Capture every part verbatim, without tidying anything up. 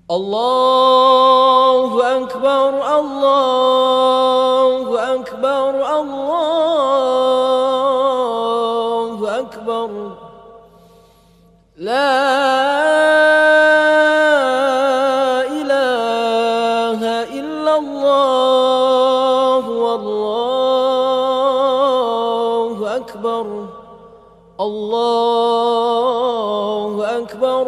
الله أكبر الله أكبر الله أكبر لا إله إلا الله والله أكبر الله أكبر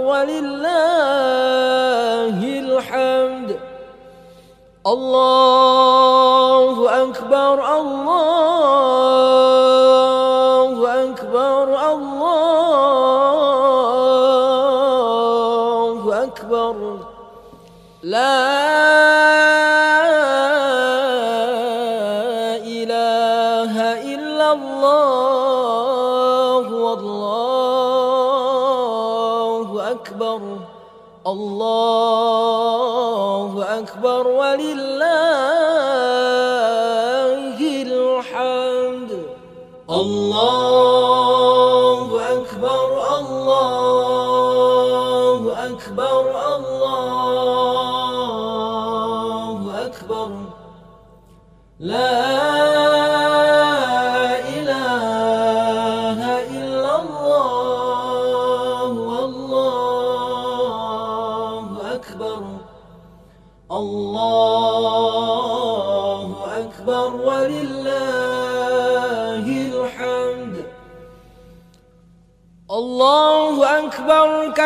ولله الحمد الله أكبر الله أكبر الله أكبر لا إله إلا الله والله أكبر الله أكبر ولله الحمد الله أكبر الله أكبر الله أكبر لا إله إلا الله والله أكبر الله أكبر ولله الحمد الله أكبر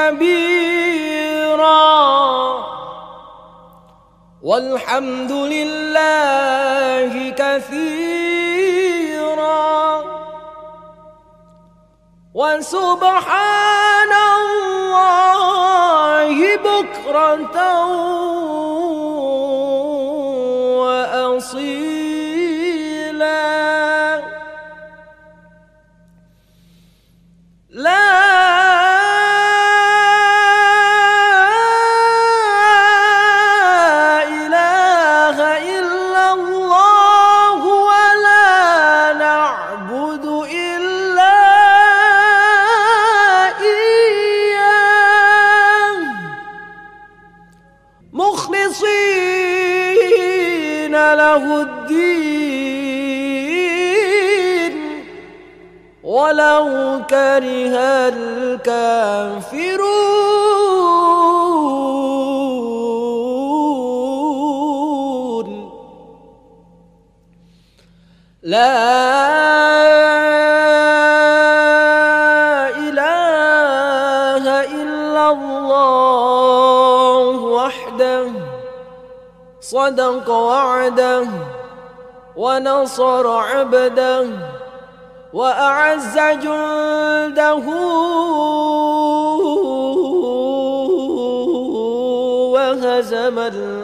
كبيرا والحمد لله كثيرا وسبحان الله بكرة وأصيلا لا إله إلا الله ولا نعبد إلا إياه مخلصين له الدين ولو كره الكافرون لا إله إلا الله وحده صدق وعده ونصر عبده وأعز جنده وهزم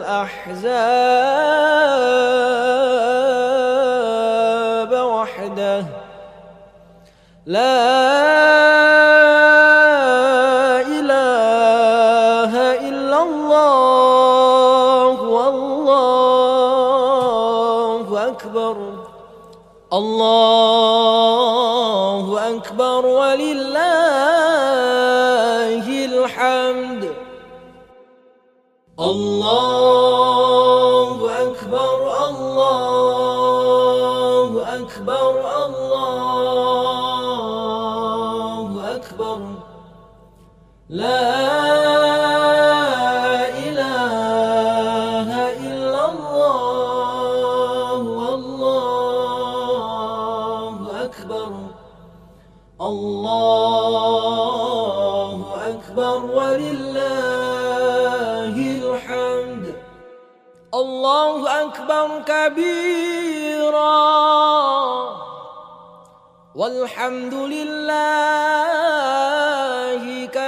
الأحزاب وحده لا إله إلا الله والله أكبر الله أكبر ولله الحمد الله أكبر الله أكبر الله أكبر لا إله إلا الله والله أكبر الله أكبر ولله الحمد الله أكبر كبيرا والحمد لله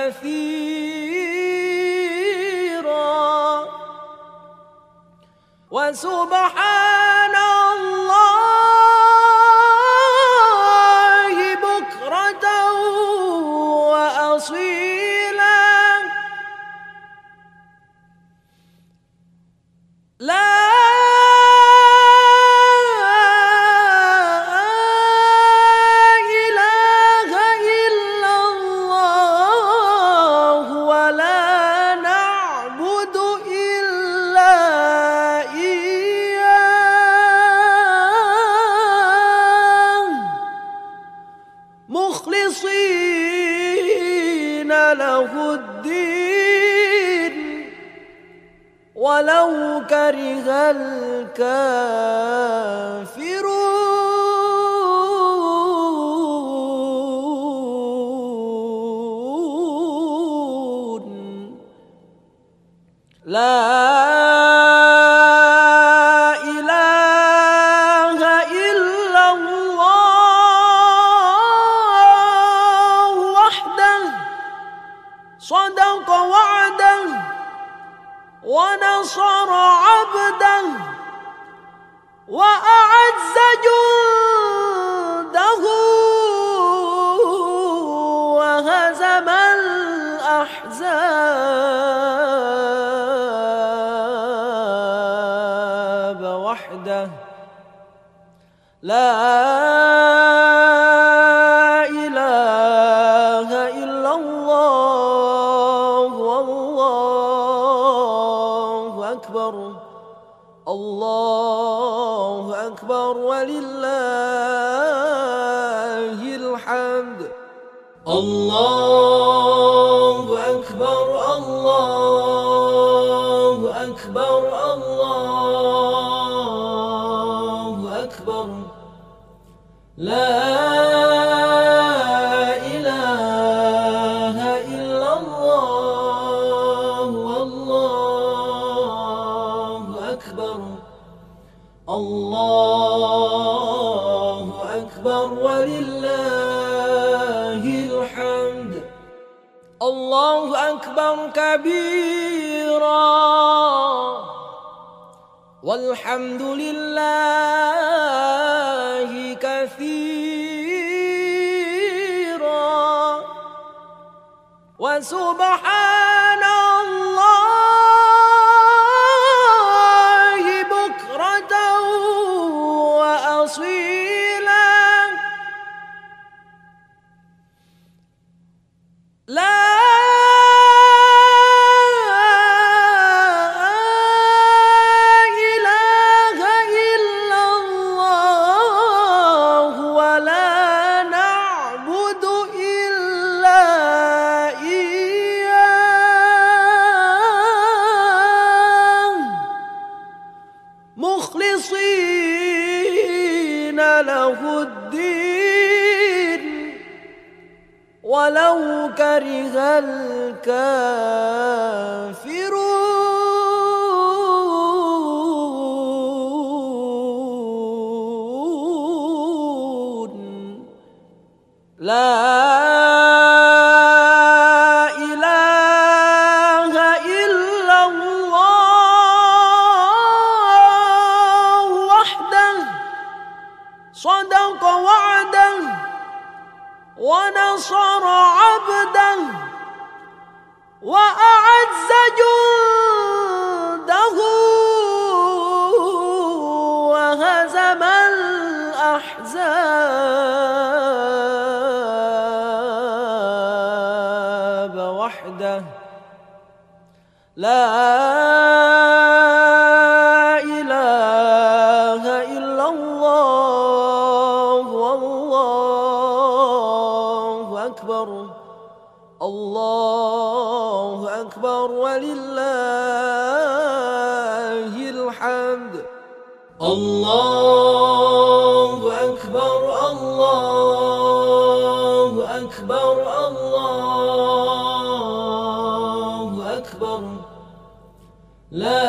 كثيرا وسبحان الله بكرة وأصيلا لا إله إلا الله ولا نعبد ولو كره الكافرون. لا إله إلا الله وحده صدق وعده ونصر عبده وأعز جنده وهزم الأحزاب وحده. لا إله إلا الله والله أكبر. الله أكبر ولله الحمد. الله أكبر الله أكبر الله أكبر. لا إله إلا الله والله أكبر. الله أكبر ولله الحمد. الله أكبر كبيرا والحمد لله كثيرا وسبحان الله بكرة وأصيلا. لا إله إلا الله ولا نعبد إلا إياه مخلصين له الدين ولو كره الكافرون. لا إله إلا الله وحده صدق وعده ونصر عبده وأعز جنده وهزم الأحزاب وحده. لا إله إلا الله والله أكبر. الله أكبر ولله الحمد. الله أكبر الله أكبر الله أكبر. لا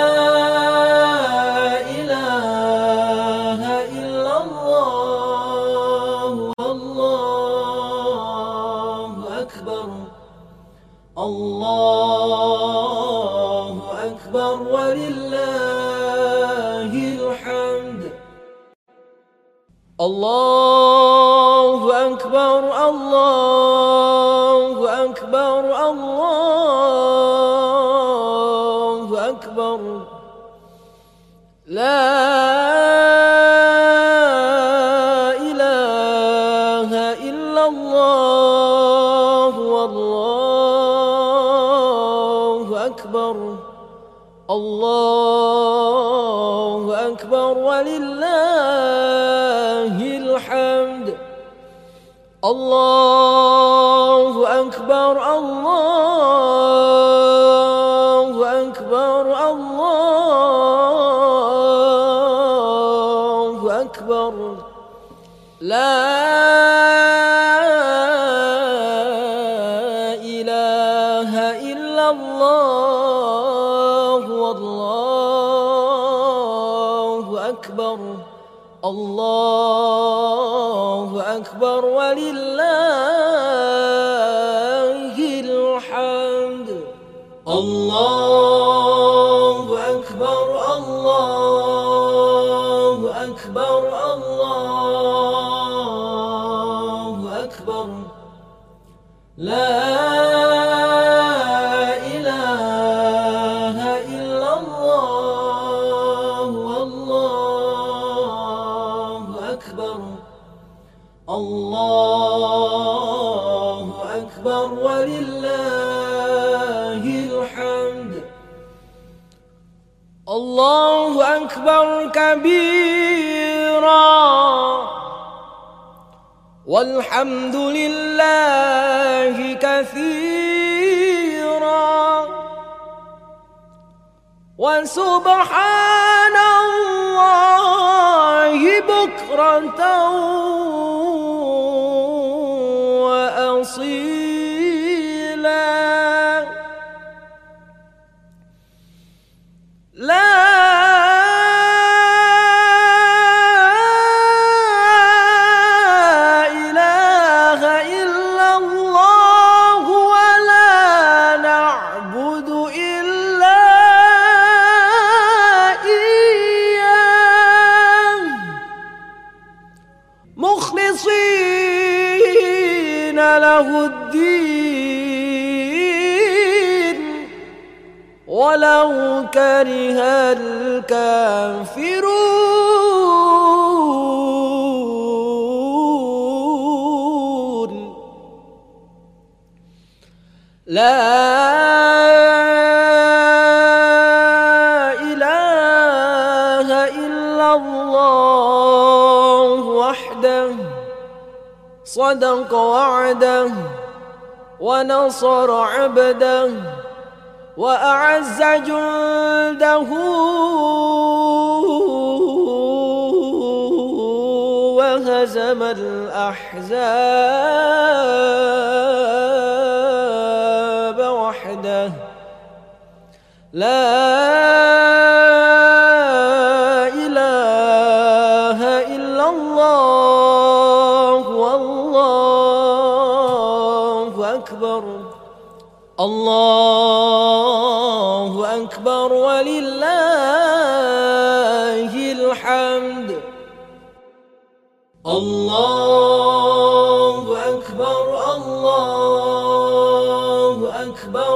إله إلا الله والله أكبر. الله أكبر ولله الحمد. الله أكبر الله أكبر الله أكبر. لا إله إلا الله والله أكبر. الله أكبر ولله الحمد. الله أكبر الله أكبر الله أكبر. لا إله إلا الله والله أكبر. الله أكبر ولله الحمد. الله أكبر الله أكبر الله أكبر. لا إله إلا الله والله أكبر. الله أكبر ولله الحمد. الله أكبر كبيرا والحمد لله كثيرا وسبحان الله بكرة وأصيلا. لا إله إلا الله ولا نعبد إلا إياه مخلصين له الدين ولو كره الكافرون. لا إله إلا الله وحده صدق وعده ونصر عبده وأعز جنده وهزم الأحزاب وحده. لا إله إلا الله والله أكبر. الله أكبر ولله الحمد. الله أكبر الله أكبر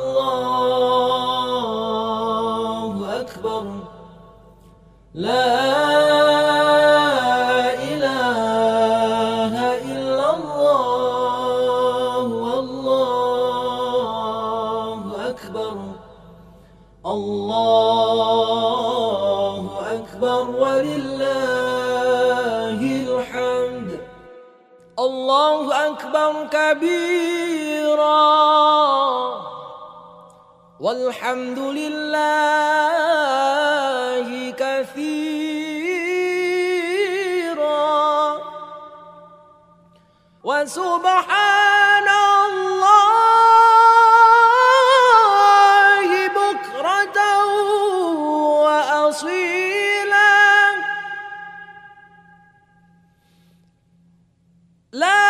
الله أكبر. لا إله إلا الله والله أكبر. الله أكبر ولله الحمد. الله أكبر كبيرا والحمد لله كثيرا وسبحان الله بكرة وأصيلا. لا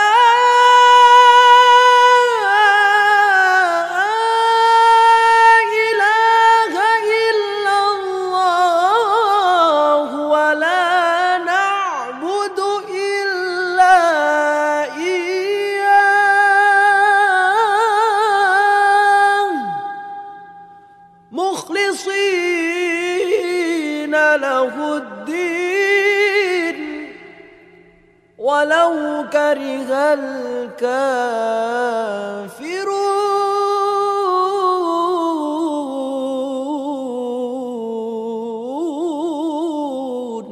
إله إلا الله ولا نعبد إلا إياه مخلصين له الدين ولو كره الكافرون.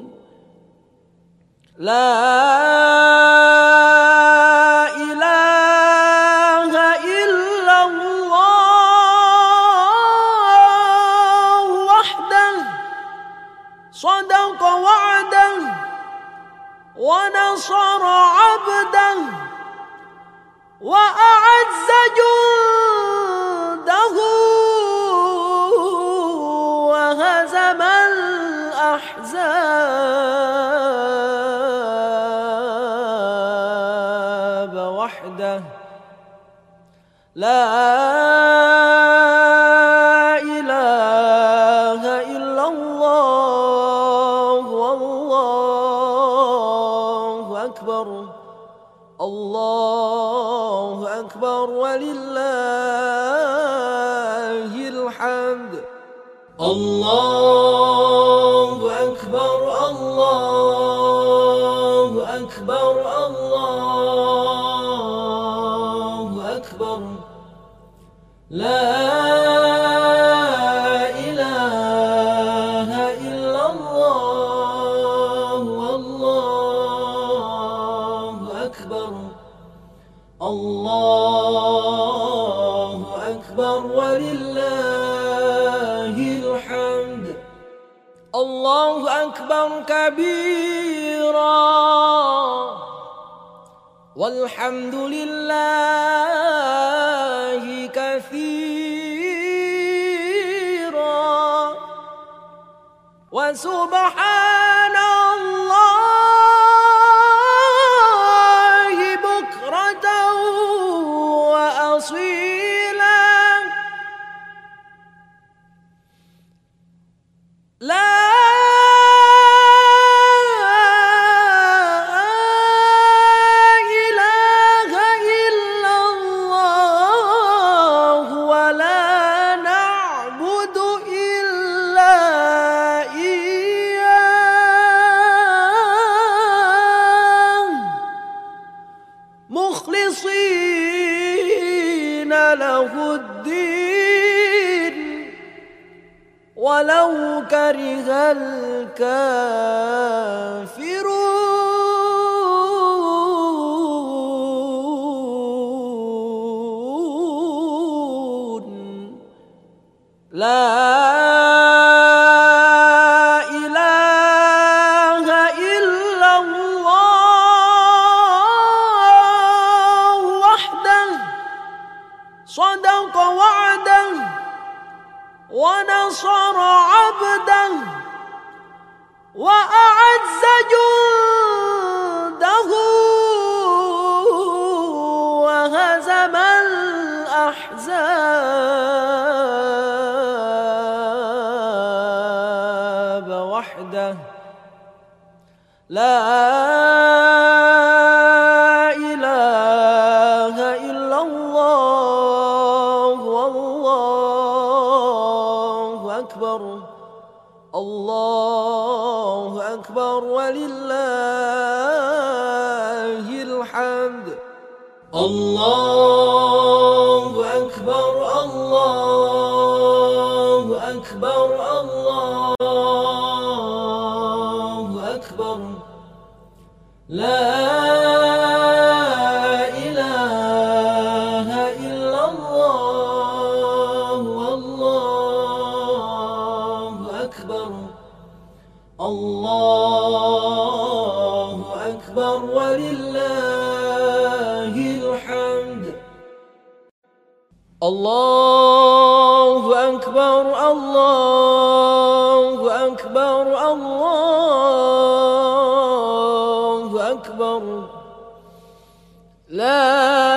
لا إله إلا الله وحده صدق وعده لا إله إلا الله والله أكبر الله أكبر ولله الحمد الله أكبر الله أكبر الله أكبر لا إله إلا الله والله أكبر الله أكبر ولله الحمد الله أكبر كبيرا والحمد لله كثيرا وسبحان الله بكرة وأصيلا لا إله إلا الله ولا نعبد إلا إياه مخلصين له الدين ولو كره الكافرون لا إله إلا الله وحده صدق وعده ونصر عبده وأعز جنده وهزم الأحزاب وحده لا إله إلا الله والله أكبر الله أكبر ولله الحمد الله أكبر الله أكبر الله أكبر لا إله إلا الله والله أكبر الله أكبر ولله الحمد الله أكبر الله أكبر الله أكبر لا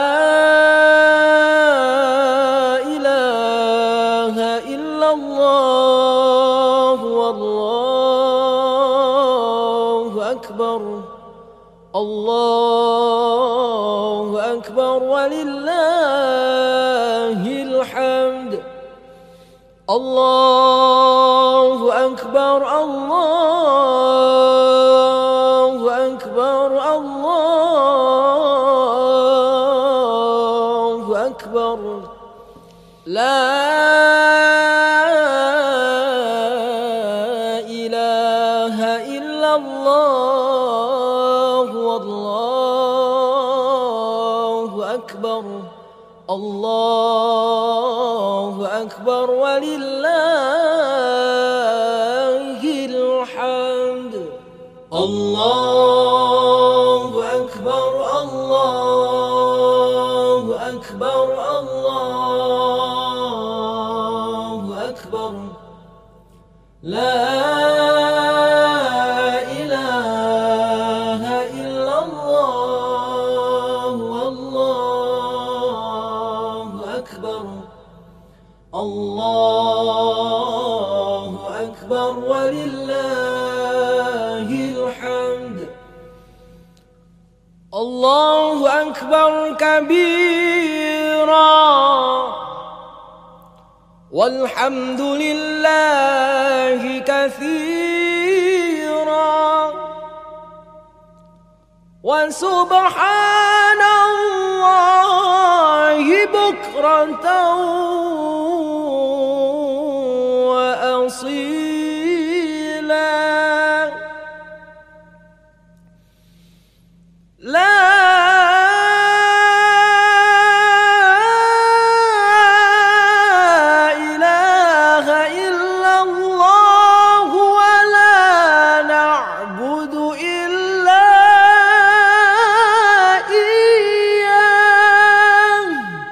إله إلا الله والله أكبر الله أكبر ولله الحمد الله أكبر الله أكبر الله أكبر لا إله إلا الله والله أكبر الله أكبر ولله الحمد الله أكبر الله أكبر الله أكبر لا إله إلا الله والله الله أكبر ولله الحمد. الله أكبر كبيرا والحمد لله كثيرا وسبحان الله بكرة وأصيلا. لا إله إلا الله ولا نعبد إلا إياه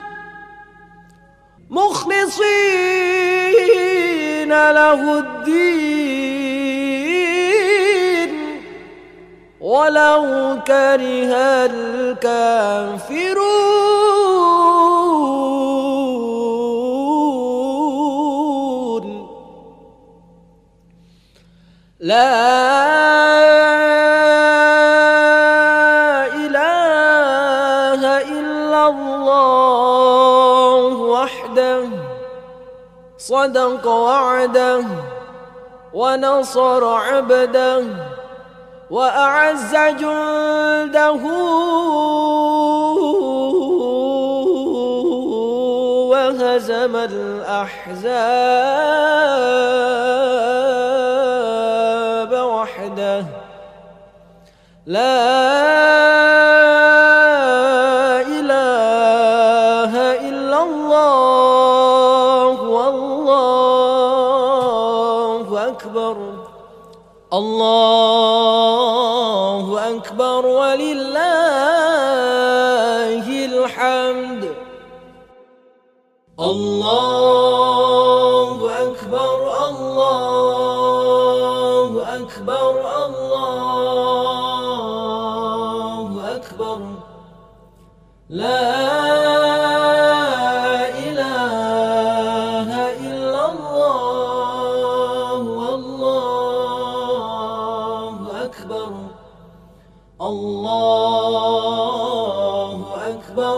مخلصين له الدين ولو كره الكافرون. لا إله إلا الله وحده صدق وعده ونصر عبده وأعز جنده وهزم الأحزاب وحده. لا إله إلا الله والله أكبر. الله أكبر ولله الحمد. الله أكبر الله أكبر الله أكبر. لا إله إلا الله والله أكبر. الله أكبر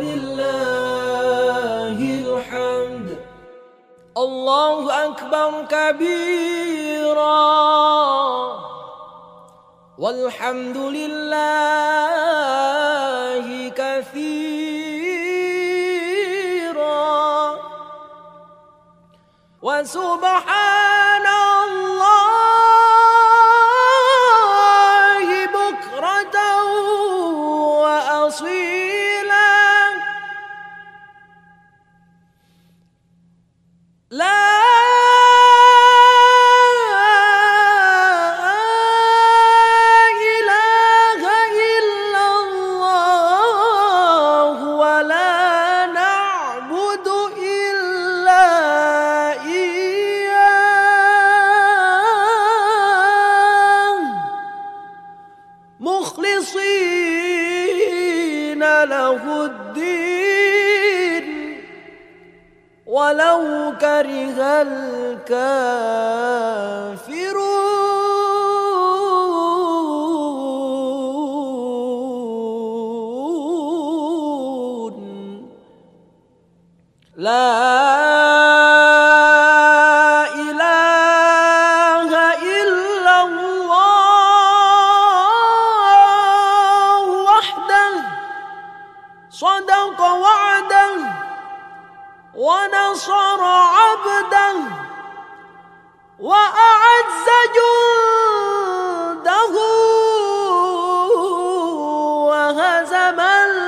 ولله الحمد. الله أكبر كبيرا والحمد لله كثيرا وسبحان الله بكرة وأصيلا. لا إله إلا الله ولا نعبد إلا إياه مخلصين له الدين ولو كره الكافرون. لا إله إلا الله وحده صدق وعده ونصر عبده وأعز جنده وهزم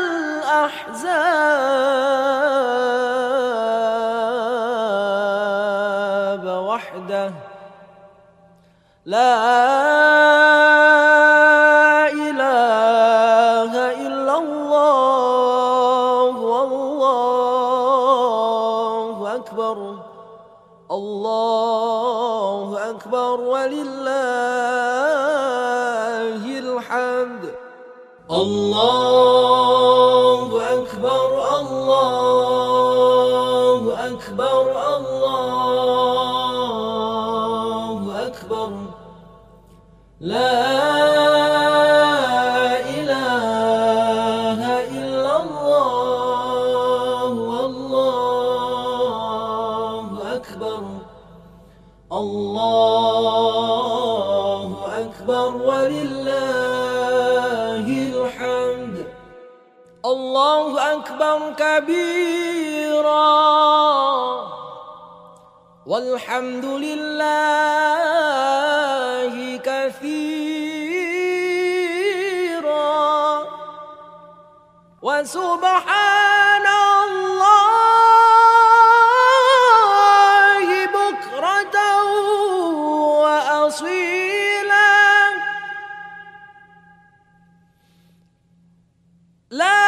الأحزاب وحده. لا إله إلا الله والله أكبر. الله أكبر ولله الحمد. الله أكبر الله أكبر الله الله أكبر. لا إله إلا الله والله أكبر. الله أكبر ولله الحمد. الله أكبر كبيرا والحمد لله كثيرا وسبحان الله بكرة وأصيلا. لا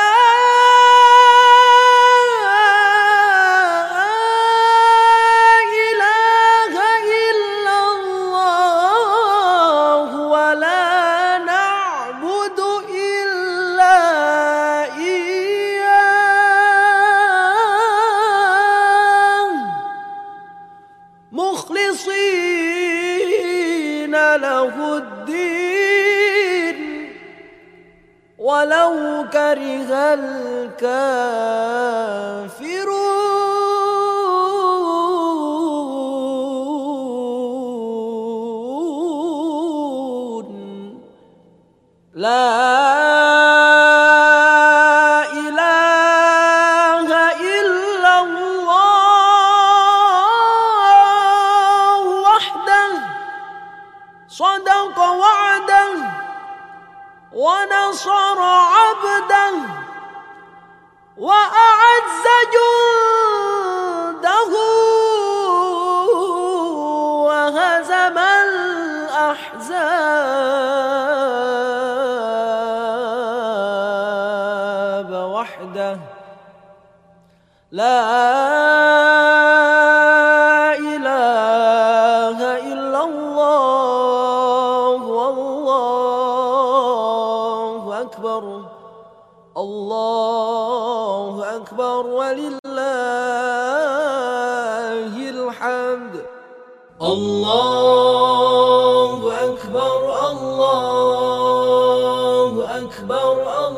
مخلصين له الدين ولو كره الكافرون. لا صدق وعده ونصر عبده وأعز جنده وهزم الأحزاب وحده. لا إله إلا الله والله أكبر. الله أكبر ولله الحمد. الله أكبر الله أكبر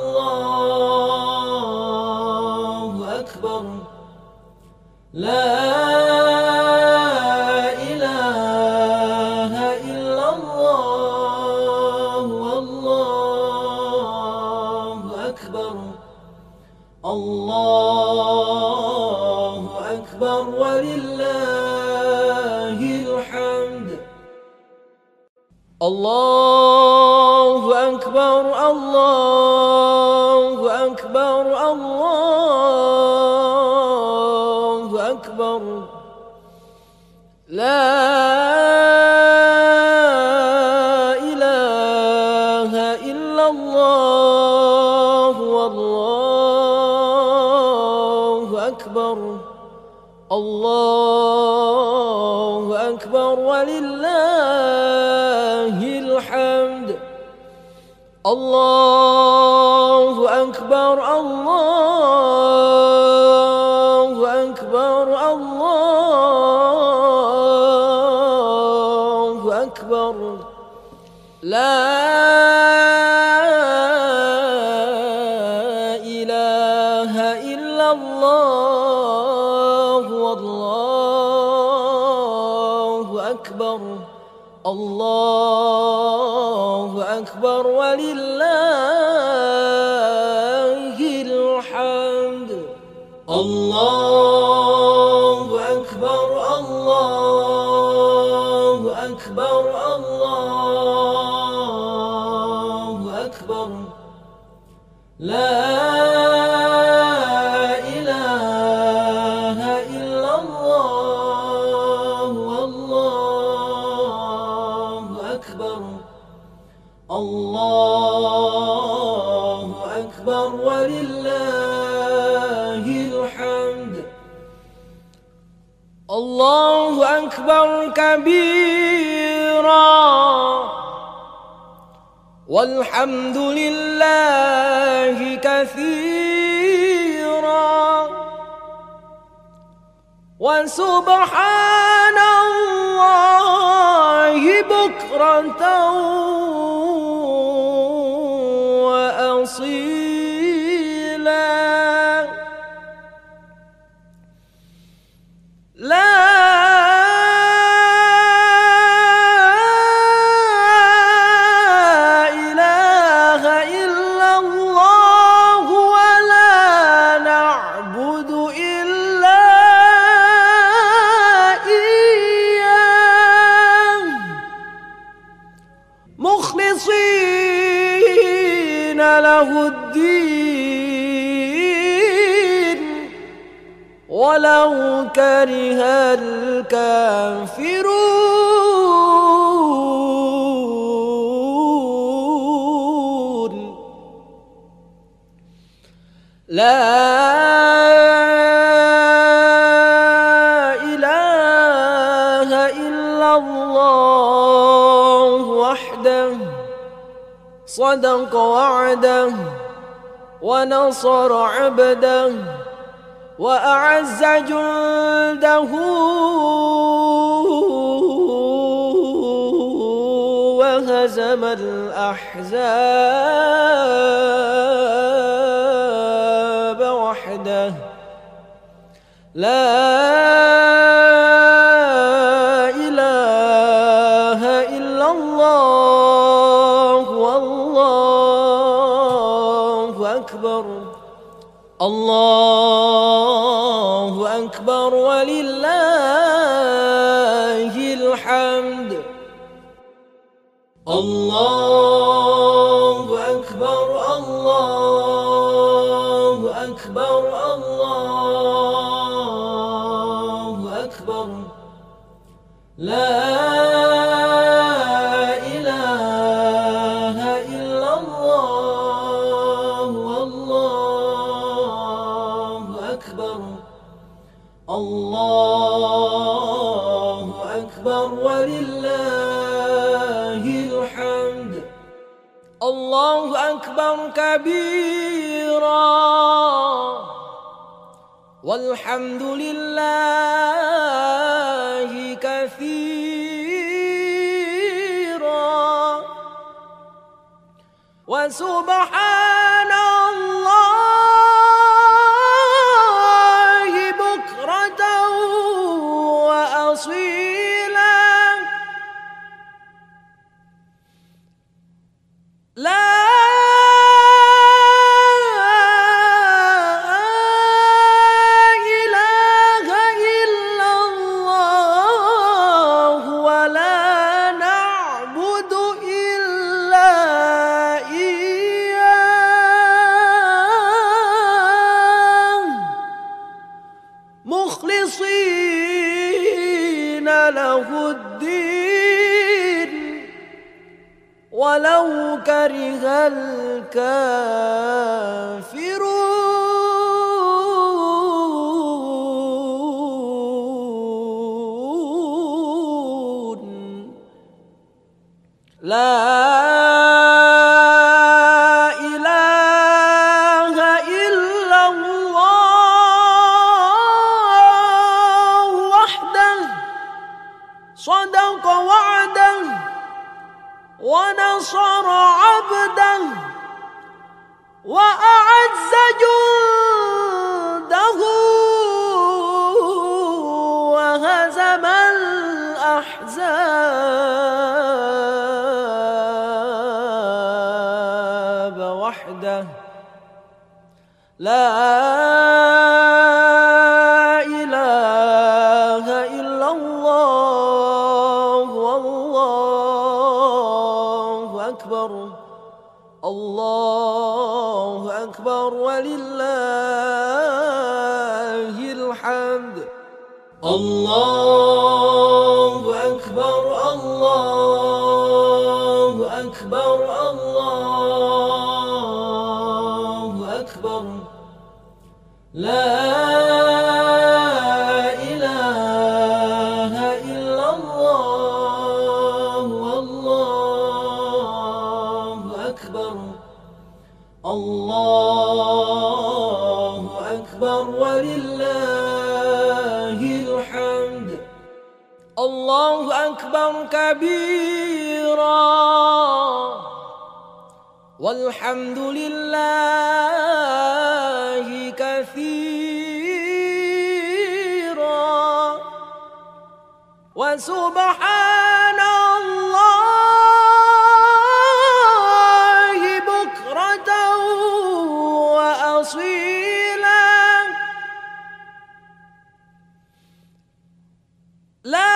الله أكبر. لا إله إلا الله والله أكبر. الله أكبر ولله الحمد. الله أكبر الله أكبر الله أكبر. لا إله إلا الله والله أكبر. الله أكبر ولله الحمد. الله أكبر الله أكبر الله أكبر. لا إله إلا الله والله أكبر. الله أكبر ولله الحمد. الله أكبر الله أكبر الله أكبر. لا إله إلا الله والله أكبر. الله أكبر ولله الحمد. الله أكبر كبيرا والحمد لله كثيرا وسبحان الله بكرة وأصيلا. لا إله إلا الله ولا نعبد إلا إياه مخلصين له الدين ولو كره الكافرون. لا إله إلا الله وحده صدق وعده ونصر عبده وأعز جنده وهزم الأحزاب وحده. لا إله إلا الله والله أكبر. الله أكبر ولله الحمد. الله أكبر الله أكبر الله أكبر. لا إله إلا الله والله أكبر. الله أكبر ولله الحمد. الله أكبر كبيرا والحمد لله كثيرا وسبحان الله بكرة وأصيلا. لا إله إلا الله ولا نعبد إلا إياه مخلصين له الدين ولو كره الكافرون. لا إله إلا الله وحده صدق وعده ونصر عبده وأعز جنده وهزم الأحزاب وحده. لا إله إلا الله والله أكبر. الله أكبر ولله الحمد. الله أكبر الله أكبر الله أكبر. لا إله إلا الله والله أكبر. الله أكبر ولله الحمد. الله أكبر كبيرا والحمد لله كثيرا وسبحان الله بكرة وأصيلا لا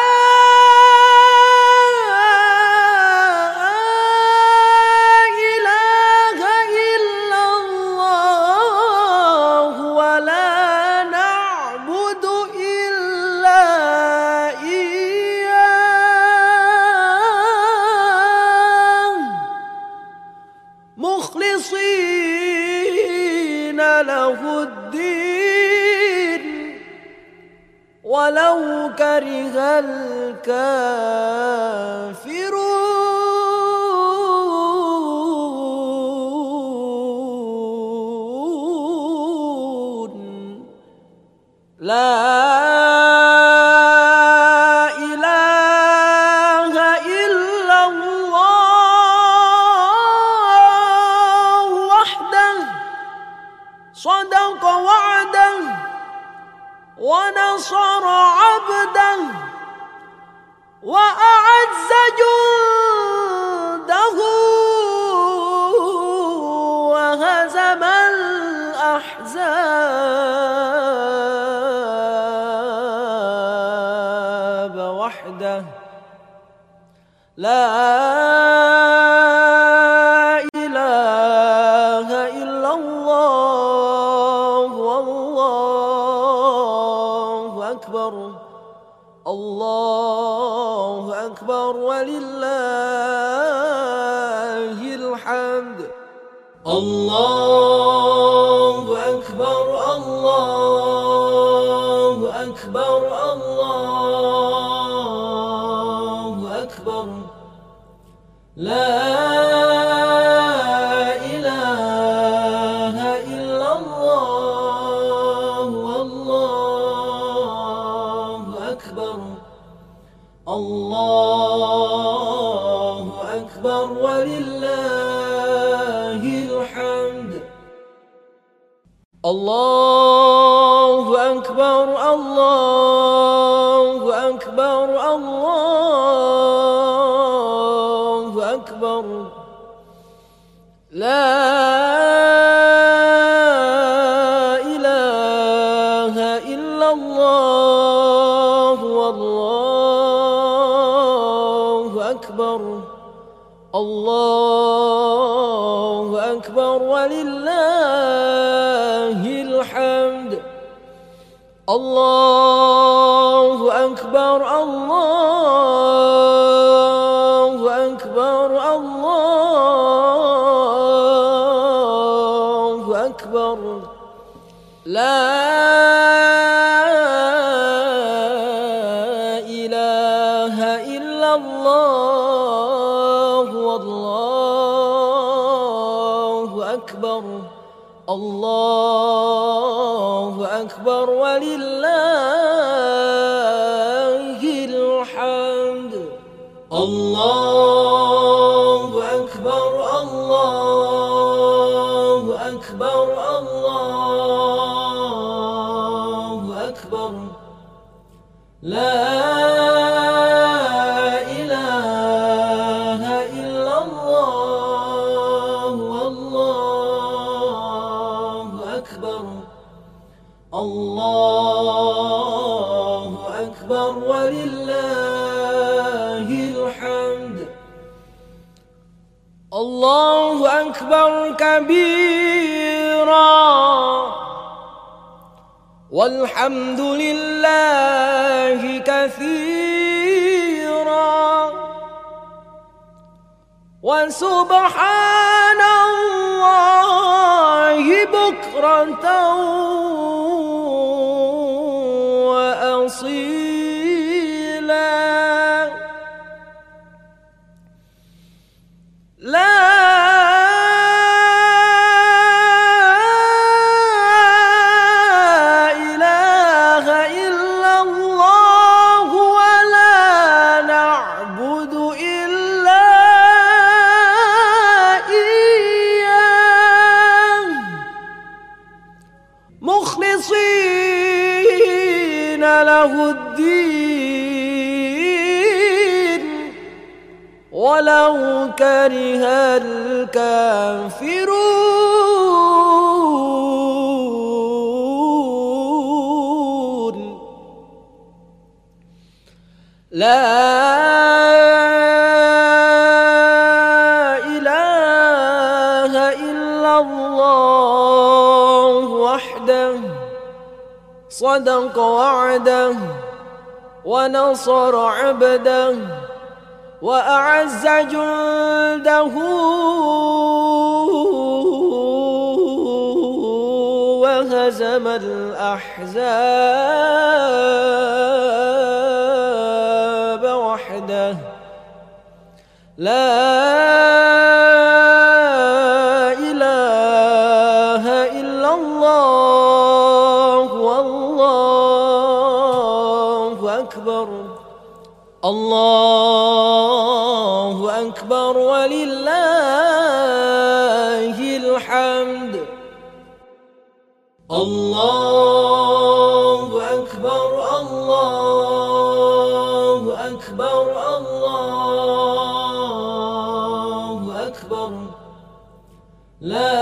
مخلصين له الدين ولو كره الكافرون لا صدق وعده ونصر عبده وأعز جنده وهزم الأحزاب وحده لا إله إلا الله والله أكبر الله أكبر ولله الحمد الله أكبر الله أكبر الله أكبر لا إله إلا الله والله أكبر الله أكبر ولله الحمد الله أكبر الله أكبر الله أكبر لا إله إلا الله والله أكبر الله أكبر ولله الحمد الله أكبر الله أكبر الله أكبر لا إله إلا الله والله أكبر الله أكبر ولله الحمد الله أكبر الله أكبر الله أكبر لا إله إلا الله والله أكبر الله أكبر ولله الحمد الله أكبر كبيرا والحمد لله كثيرا وسبحان الله بكرة وأصيلا لا إله إلا الله ولا ولو كره الكافرون. لا إله إلا الله وحده صدق وعده ونصر عبده وأعز جنده وهزم الأحزاب وحده. لا إله إلا الله والله أكبر. الله أكبر ولله الحمد. الله أكبر الله أكبر الله أكبر. لا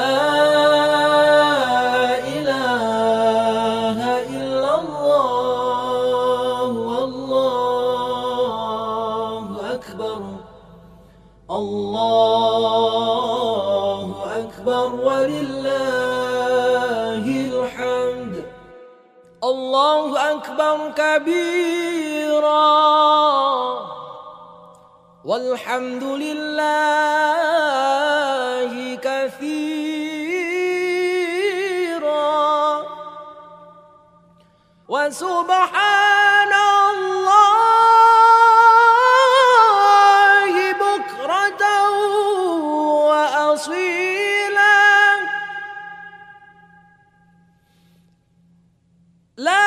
إله إلا الله والله أكبر. الله أكبر ولله الحمد. الله أكبر كبيرا والحمد لله كثيرا وسبحان الله بكرة وأصيلا. لا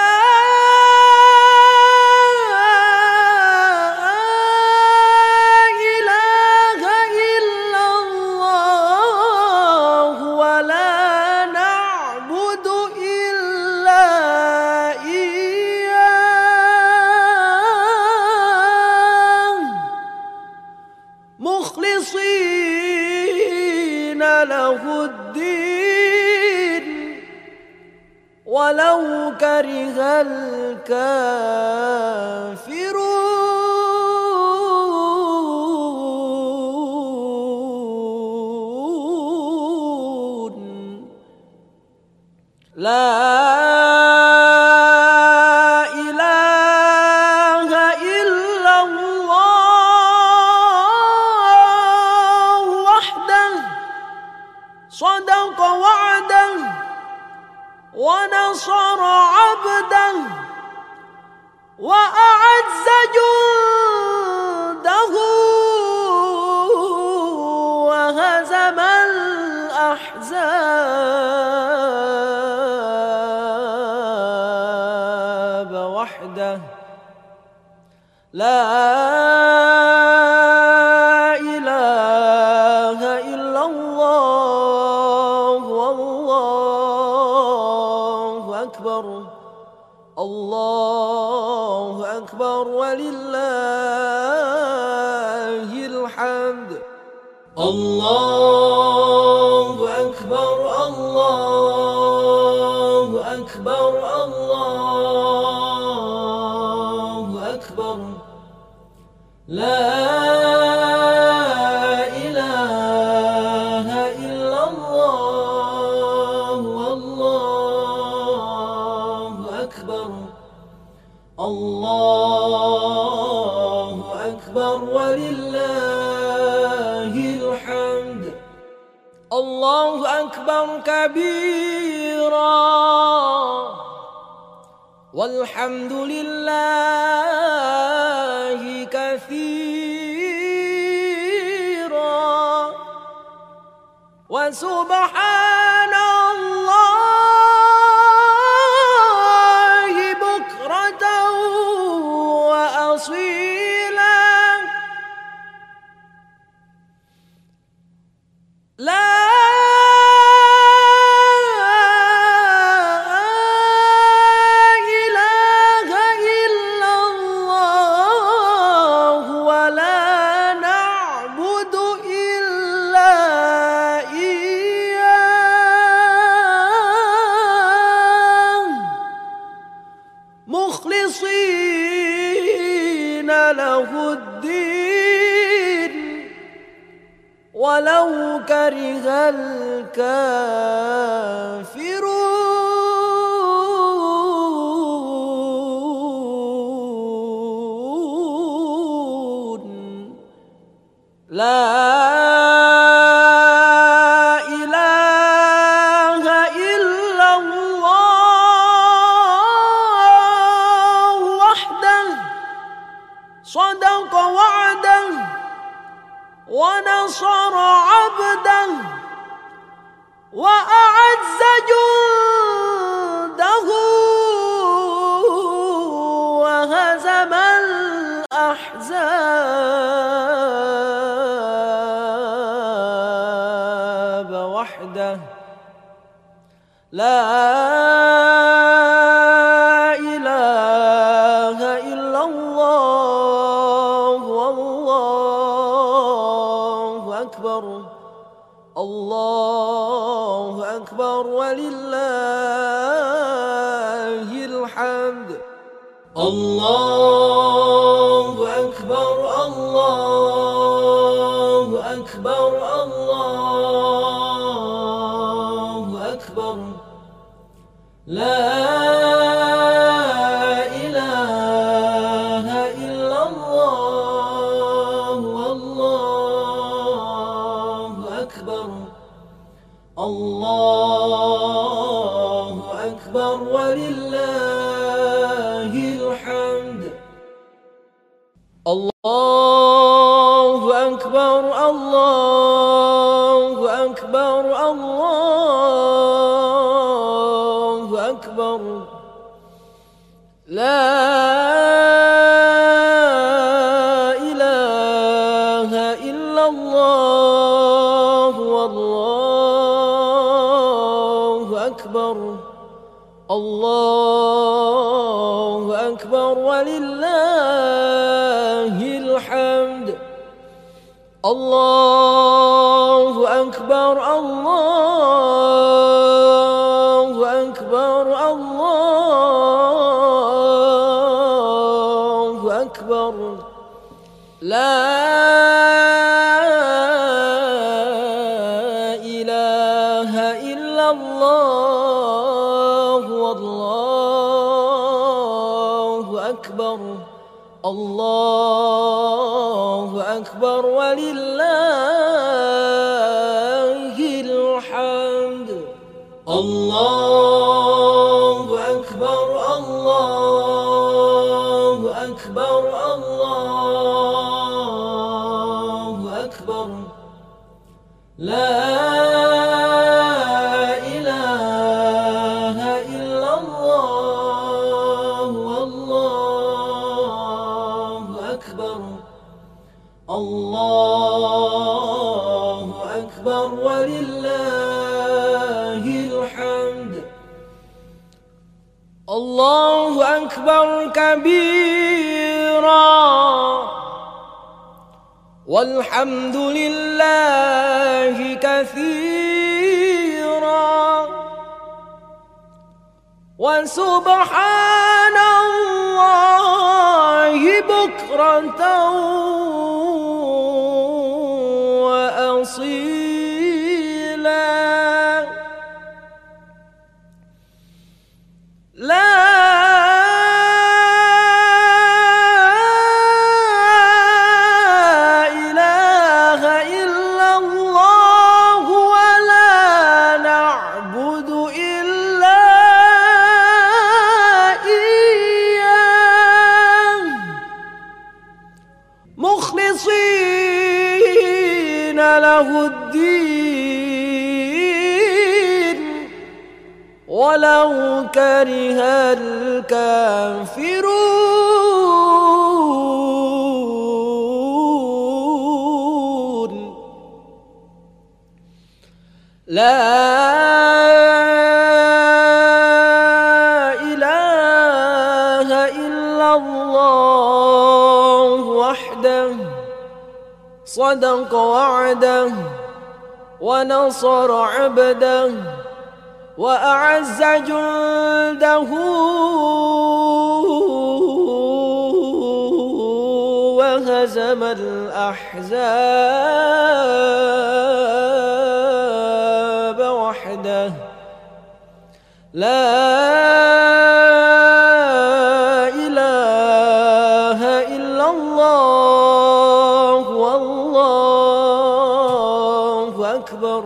إله إلا الله ولا نعبد إلا إياه مخلصين له الدين ولو كره الكافرون. لا إله إلا الله وحده صدق وعده ونصر عبده وأعز جنده وهزم الأحزاب وحده. لا إله إلا الله والله أكبر. الله أكبر ولله الحمد. الله أكبر الله أكبر الله أكبر. لا إله إلا الله والله أكبر. الله أكبر ولله الحمد. الله أكبر كبيرا والحمد لله كثيرا وسبحان الله بكرة وأصيلا. لا إله إلا الله ولا نعبد له الدين ولو كره الكافرون. لا إله إلا الله وحده صدق وعده ونصر عبده وأعز جنده وهزم الأحزاب وحده. لا إله إلا الله والله أكبر. الله أكبر ولله الحمد. الله أكبر الله أكبر الله أكبر. لا إله إلا الله والله أكبر. الله أكبر ولله الحمد. الله أكبر الله أكبر الله أكبر. لا إله إلا الله والله أكبر. الله أكبر ولله الحمد. الله أكبر الله أكبر الله أكبر. لا إله إلا الله والله أكبر. الله أكبر ولله الحمد. الله أكبر الله أكبر الله أكبر. لا إله إلا الله والله أكبر. الله أكبر ولله الحمد. الله أكبر كبيرا والحمد لله كثيرا وسبحان الله بكرة وأصيلا. لا إله إلا الله ولا نعبد إلا إياه مخلصين له الدين ولو كره الكافرون. لا إله إلا الله وحده صدق وعده ونصر عبده وأعز جنده وهزم الأحزاب وحده لا إله إلا الله والله أكبر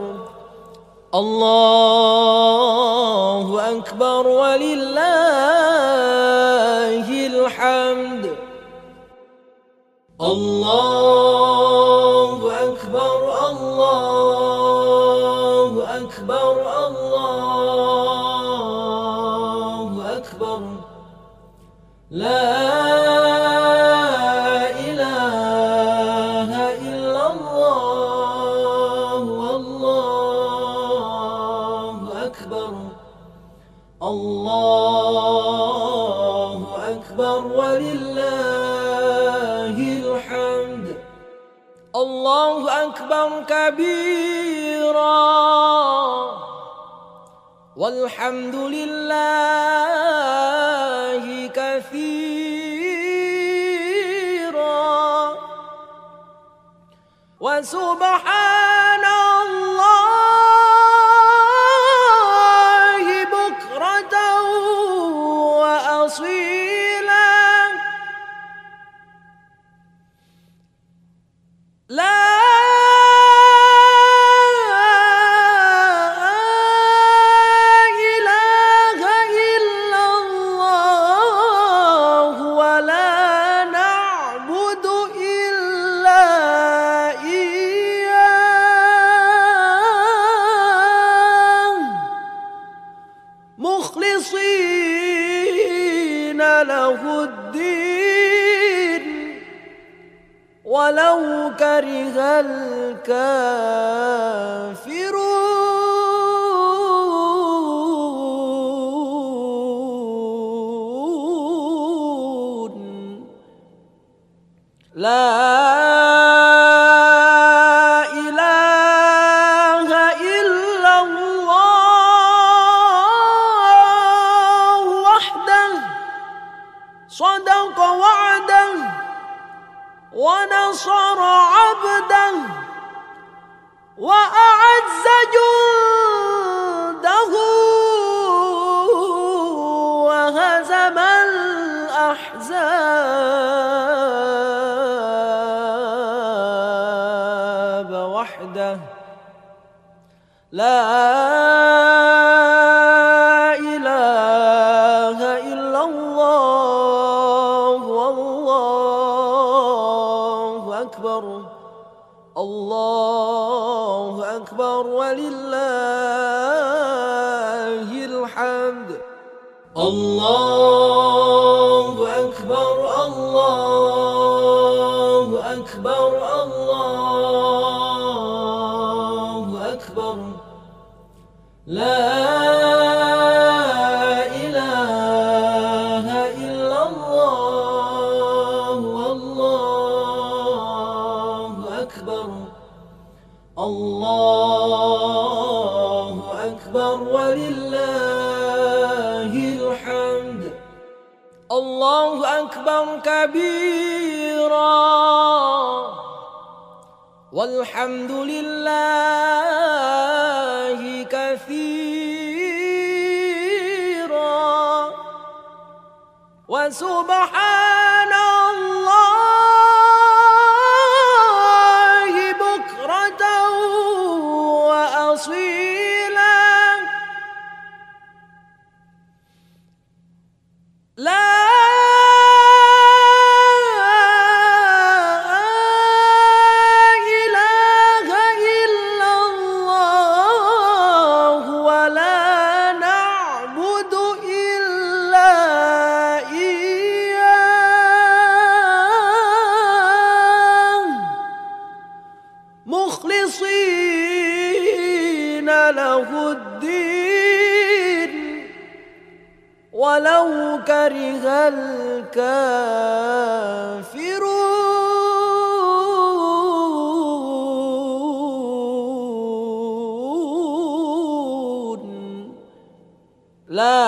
الله أكبر ولله الحمد الله أكبر الله أكبر الله أكبر لا إله إلا الله والله أكبر الله أكبر ولله الحمد الله أكبر كبيرا والحمد لله كثيرا وسبحان الله بكرة وأصيلا لا إله إلا الله ولا نعبد إلا إياه مخلصين له الدين ولو كره الكافرون لا إله إلا الله وحده صدق وعده ونصر عبده وأعز جنده وهزم الأحزاب وحده لا إله إلا الله والله أكبر الله أكبر ولله الحمد الله أكبر الله أكبر الله أكبر لا إله إلا الله والله أكبر الله أكبر ولله الحمد الله أكبر كبيرا والحمد لله كثيرا وسبحان الله بكرة وأصيلا لا إله إلا الله ولا نعبد إلا إياه مخلصين له الدين ولو كره الكافرون لا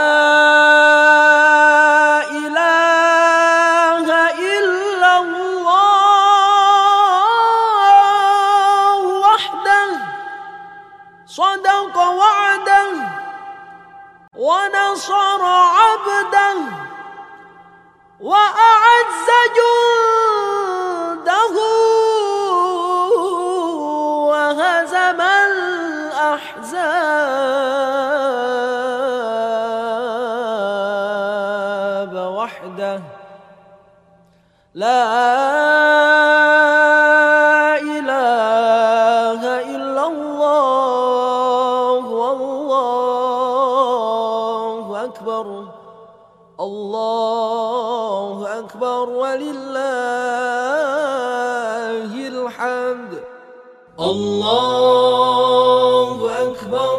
إله إلا الله لا إله إلا الله والله أكبر الله أكبر ولله الحمد الله أكبر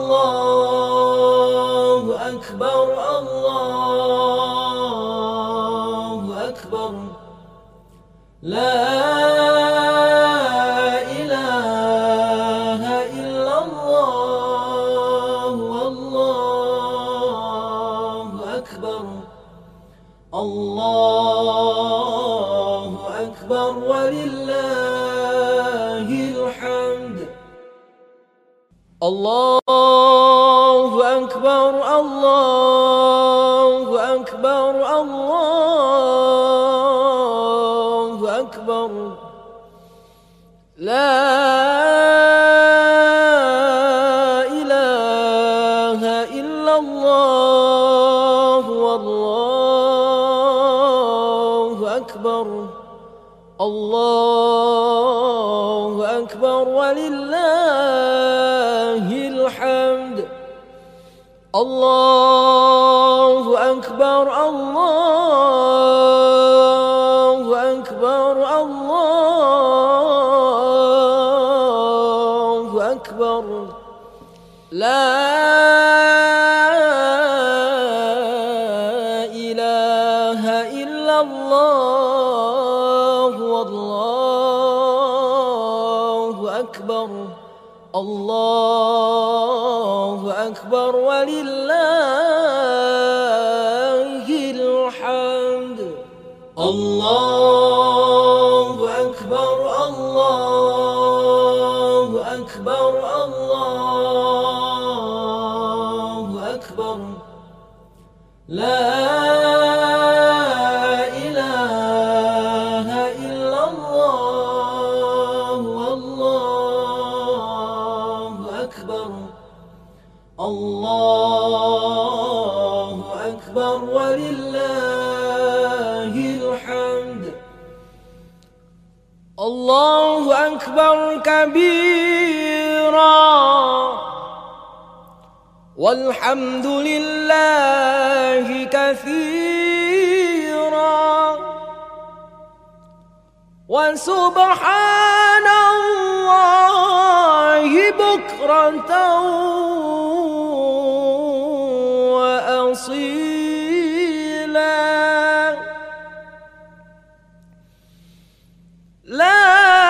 الله أكبر الله أكبر لا إله إلا الله والله أكبر الله أكبر ولله الحمد الله أكبر الله أكبر الله أكبر لا إله إلا الله والله أكبر الله أكبر ولله الحمد الله أكبر الله أكبر الله أكبر لا إله إلا الله والله أكبر الله أكبر ولله الحمد الله أكبر الله أكبر الله أكبر لا إله إلا الله والله أكبر الله أكبر ولله الحمد الله أكبر كبيرا والحمد لله كثيرا وسبحان الله بكرة وأصيلا لا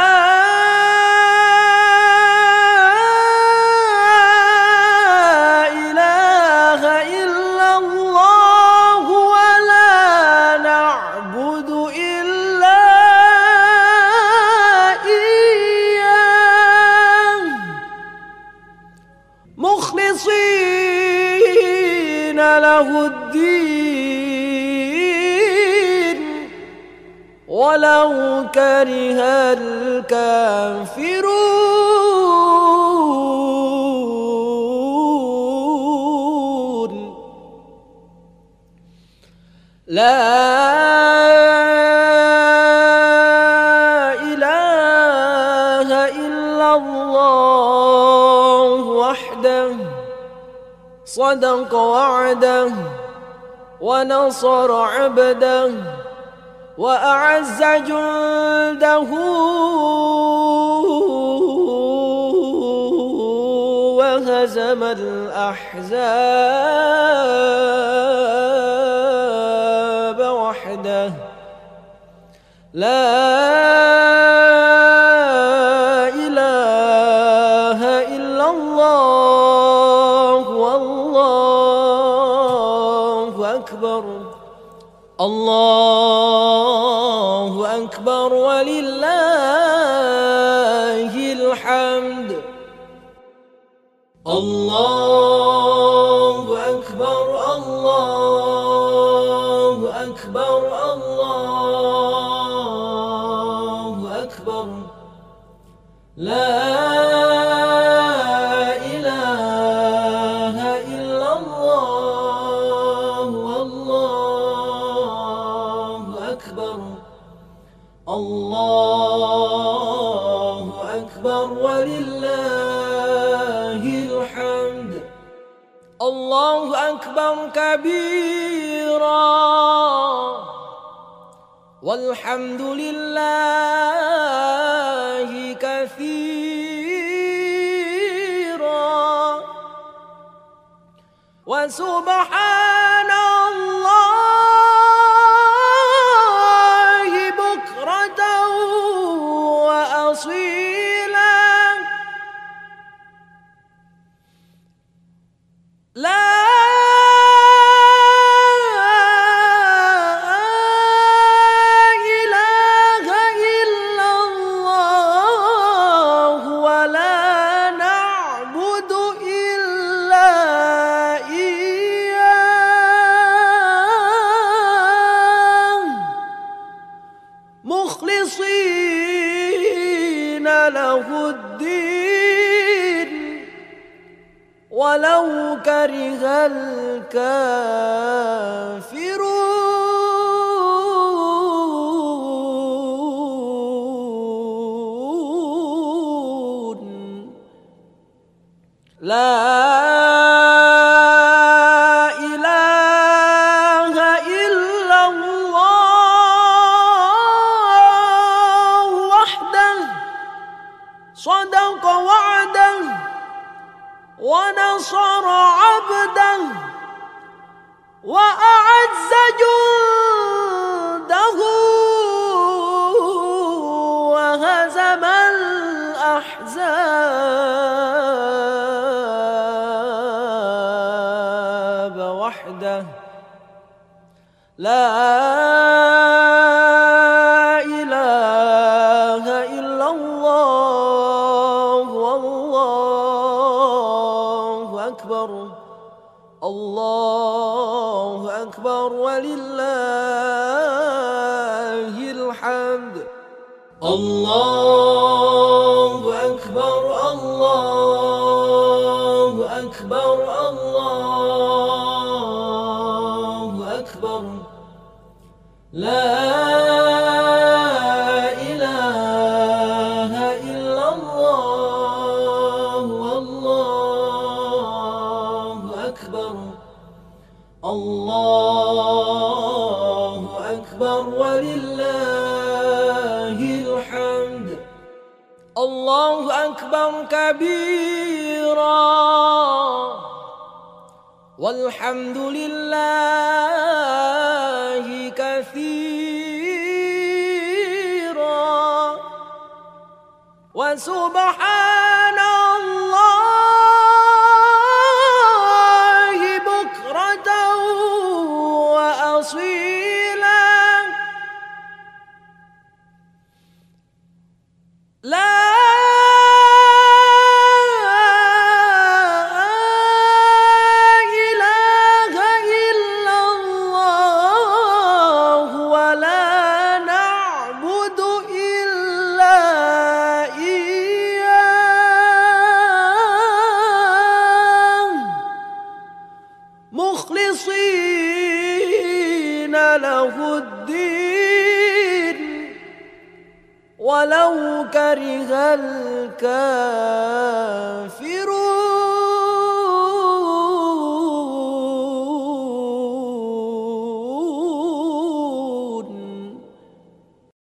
إله إلا الله ولا نعبد إلا إياه مخلصين له الدين ولو كره الكافرون لا إله إلا الله وحده صدق وعده ونصر عبده وأعز جنده وهزم الأحزاب وحده لا إله إلا الله والله أكبر الله أكبر ولله الحمد الله أكبر الله أكبر الله أكبر لا إله إلا الله والله أكبر الله أكبر ولله الحمد. الله أكبر كبيرا والحمد لله كثيرا وسبحان الله بكرة وأصيلا. لا مخلصين له الدين ولو كره الكافرون. لا صدق وعده ونصر عبده وأعز جنده وهزم الأحزاب وحده. لا إله إلا الله والله أكبر. الله أكبر ولله الحمد. الله أكبر الله أكبر الله أكبر. لا الله أكبر ولله الحمد. الله أكبر كبيرا والحمد لله كثيرا وسبحان الله بكرة وأصيلا. لا إله إلا الله ولا نعبد إلا إياه مخلصين له الدين ولو كره الكافرون.